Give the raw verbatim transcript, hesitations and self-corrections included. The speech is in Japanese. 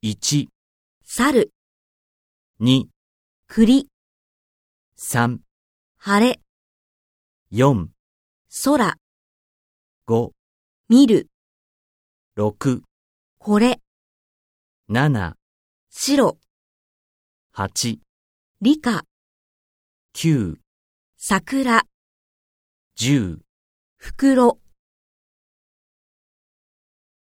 いち、 猿、 に、 栗、 さん、 晴れ、 よん、 空、 ご、 見る、 ろく、 これ、 なな、 白、 はち、 理科、 きゅう、 桜、 じゅう、 袋。